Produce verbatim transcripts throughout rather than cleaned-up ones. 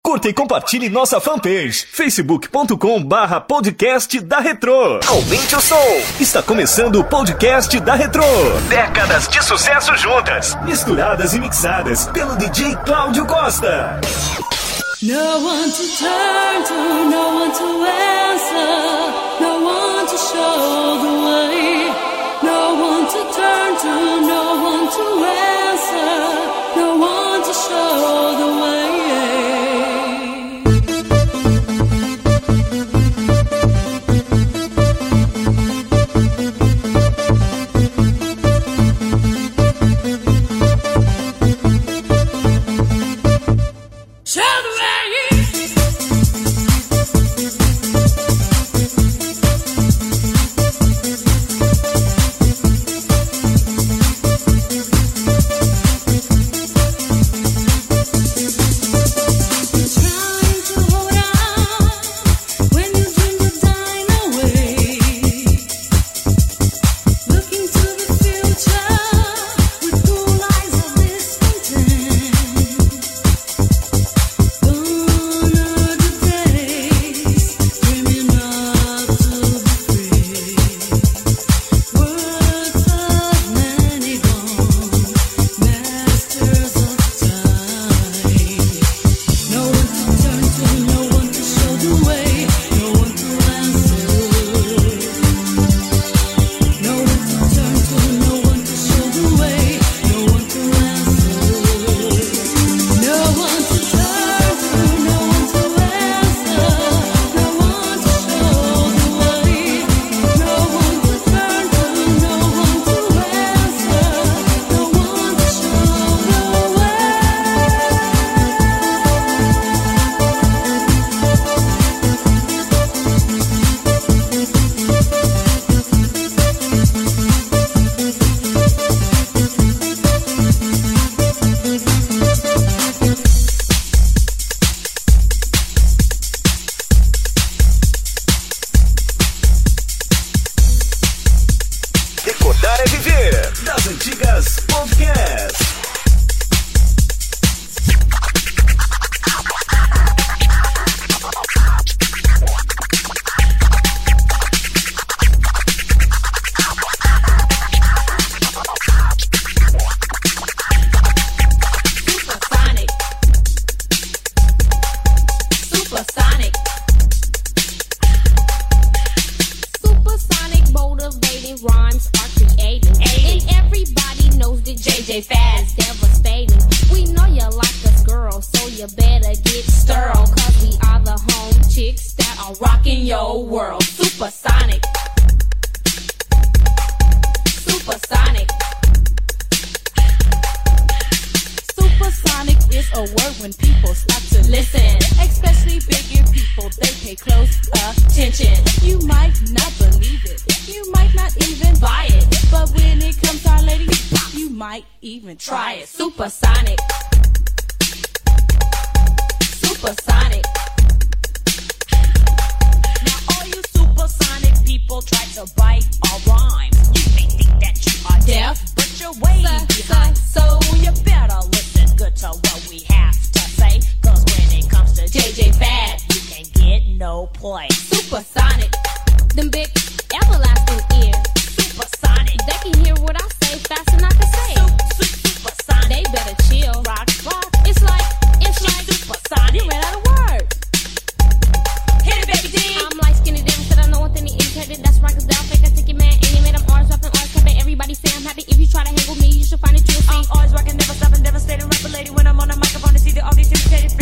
Curta e compartilhe nossa fanpage, facebook ponto com barra podcast da Retrô. Aumente o som. Está começando o podcast da Retrô. Décadas de sucesso juntas, misturadas e mixadas pelo D J Cláudio Costa. No one to turn to, no one to answer, no one to show the way. No one to turn to, no one to answer, no one to show the way.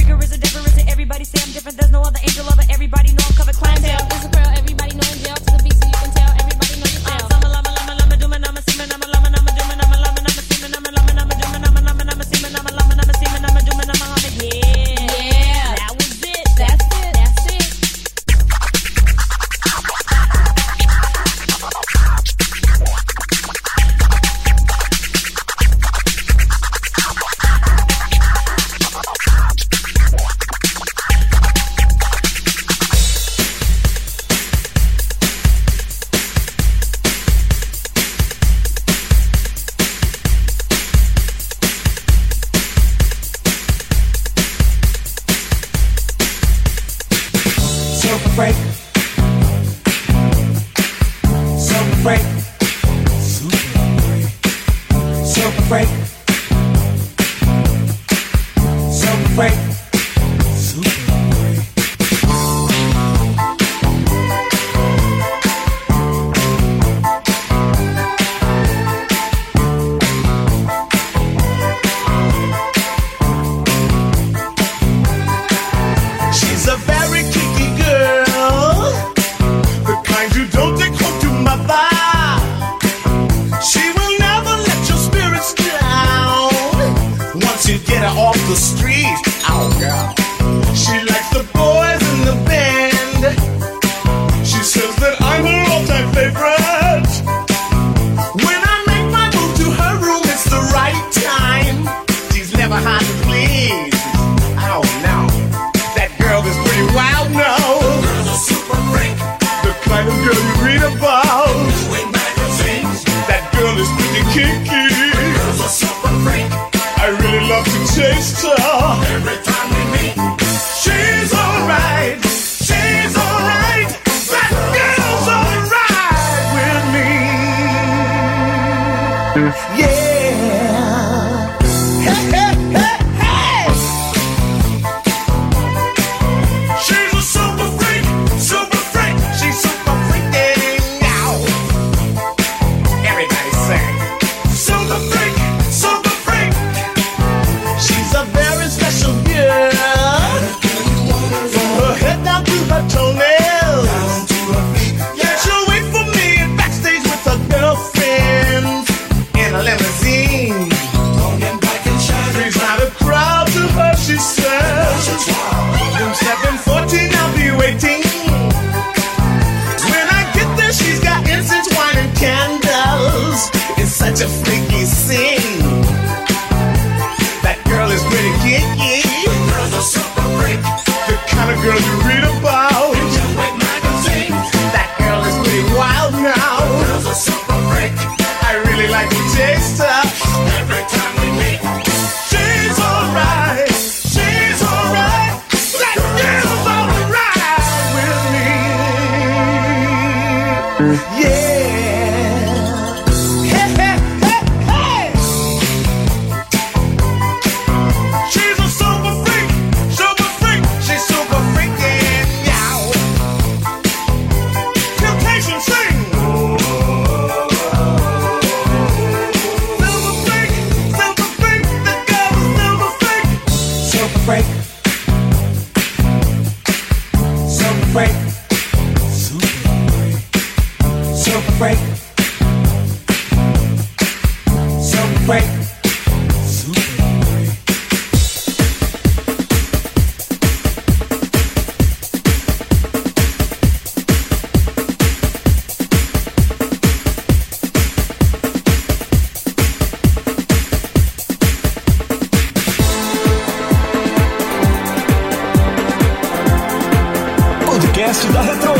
Everybody know I'm covered, climb down. It's a girl, everybody know in jail to the beat. freak. Super freak. Super freak. Super freak. Off the street, oh girl. She likes the boys in the band. She says that I'm her all-time favorite. When I make my move to her room, it's the right time. She's never hard to please. Oh no, that girl is pretty wild now. The girl's a super freak, the kind of girl you read about in magazines. That girl is pretty kinky. The girl's a super freak. I really love to taste her. Every time we meet, she's alright. She's alright. That girl's alright with me. Yeah. Hey, hey, hey, hey. She's a super freak. Super freak. She's super freaking out. Everybody sing. Super freak. Super freak. She's a very special girl. From her head down to her toenails. Yeah, she'll wait for me backstage with her girlfriends in a limousine. She's not a crowd to her, she says. Room seven fourteen, I'll be waiting. When I get there, she's got incense, wine, and candles. It's such a freaky scene. Girl is pretty kinky. The girl's a super freak. The kind of girl you read about in your magazine. That girl is pretty wild now. The girl's a super freak. I really like to taste her. Every time we meet, she's alright. She's alright. That girl's alright with me. Yeah. Podcast da Retro.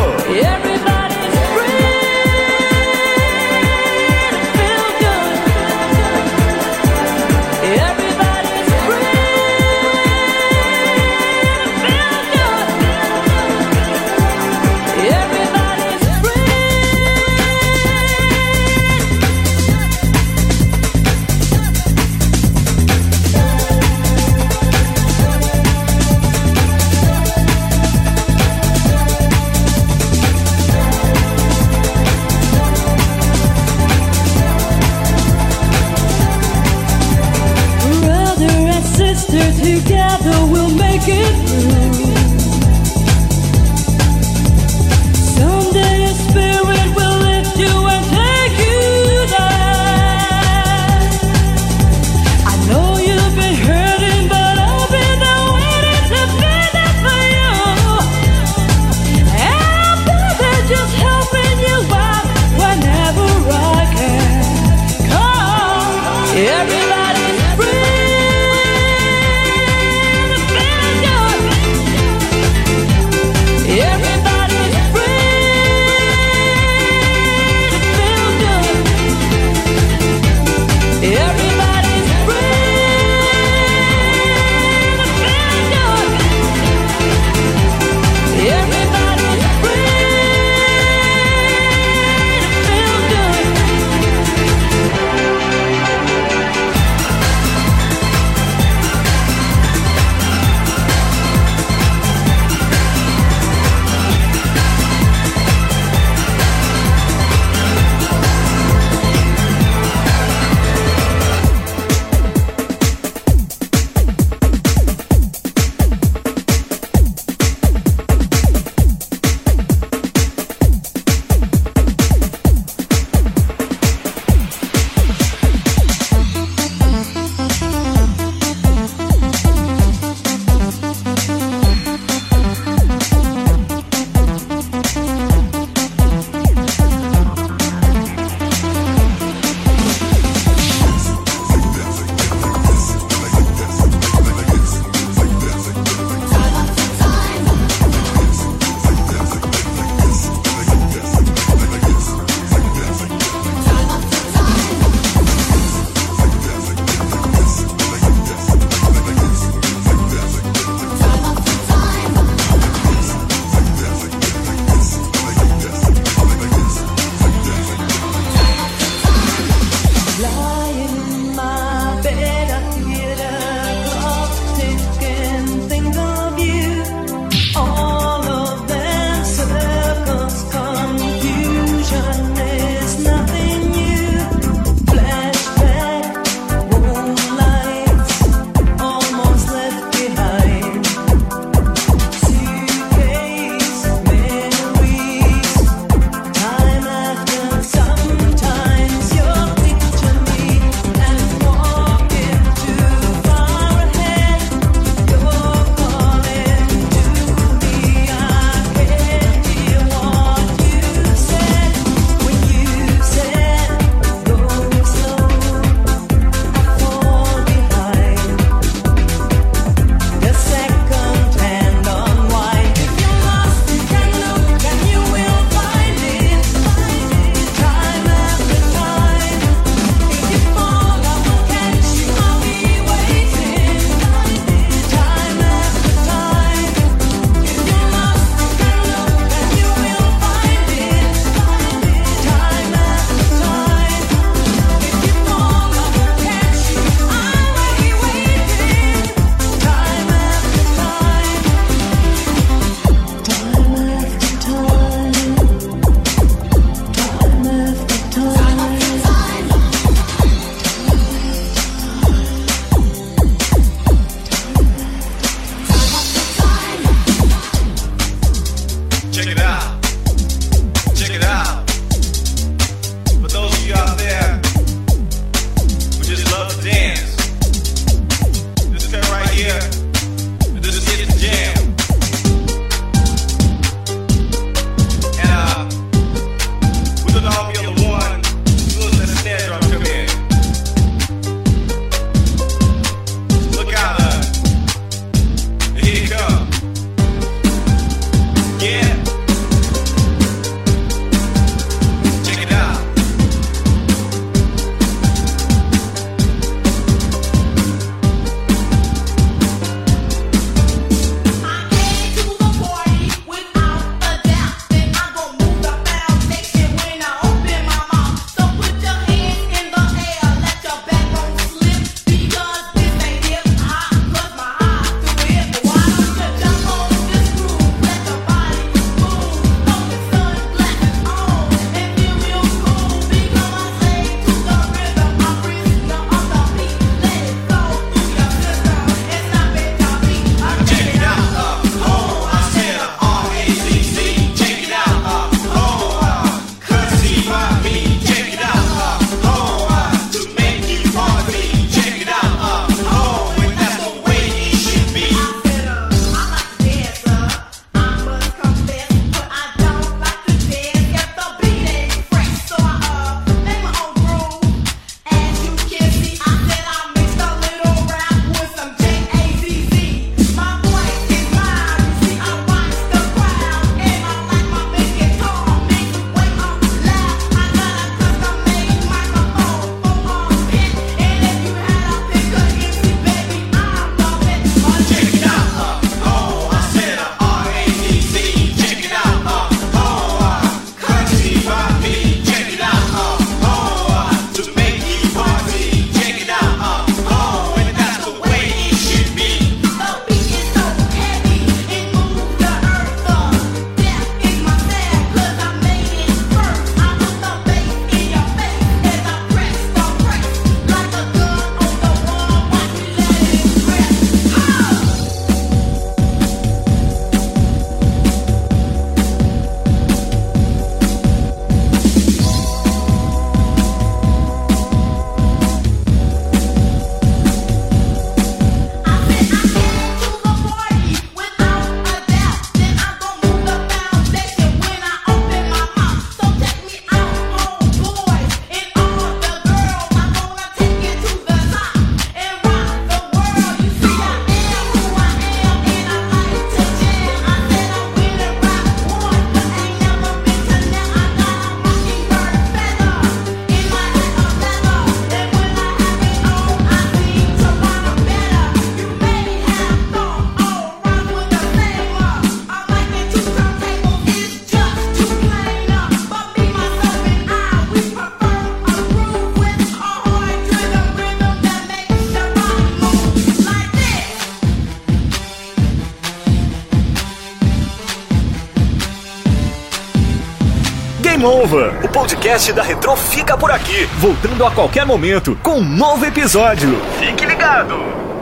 Game Over. O podcast da Retrô fica por aqui, voltando a qualquer momento com um novo episódio. Fique ligado!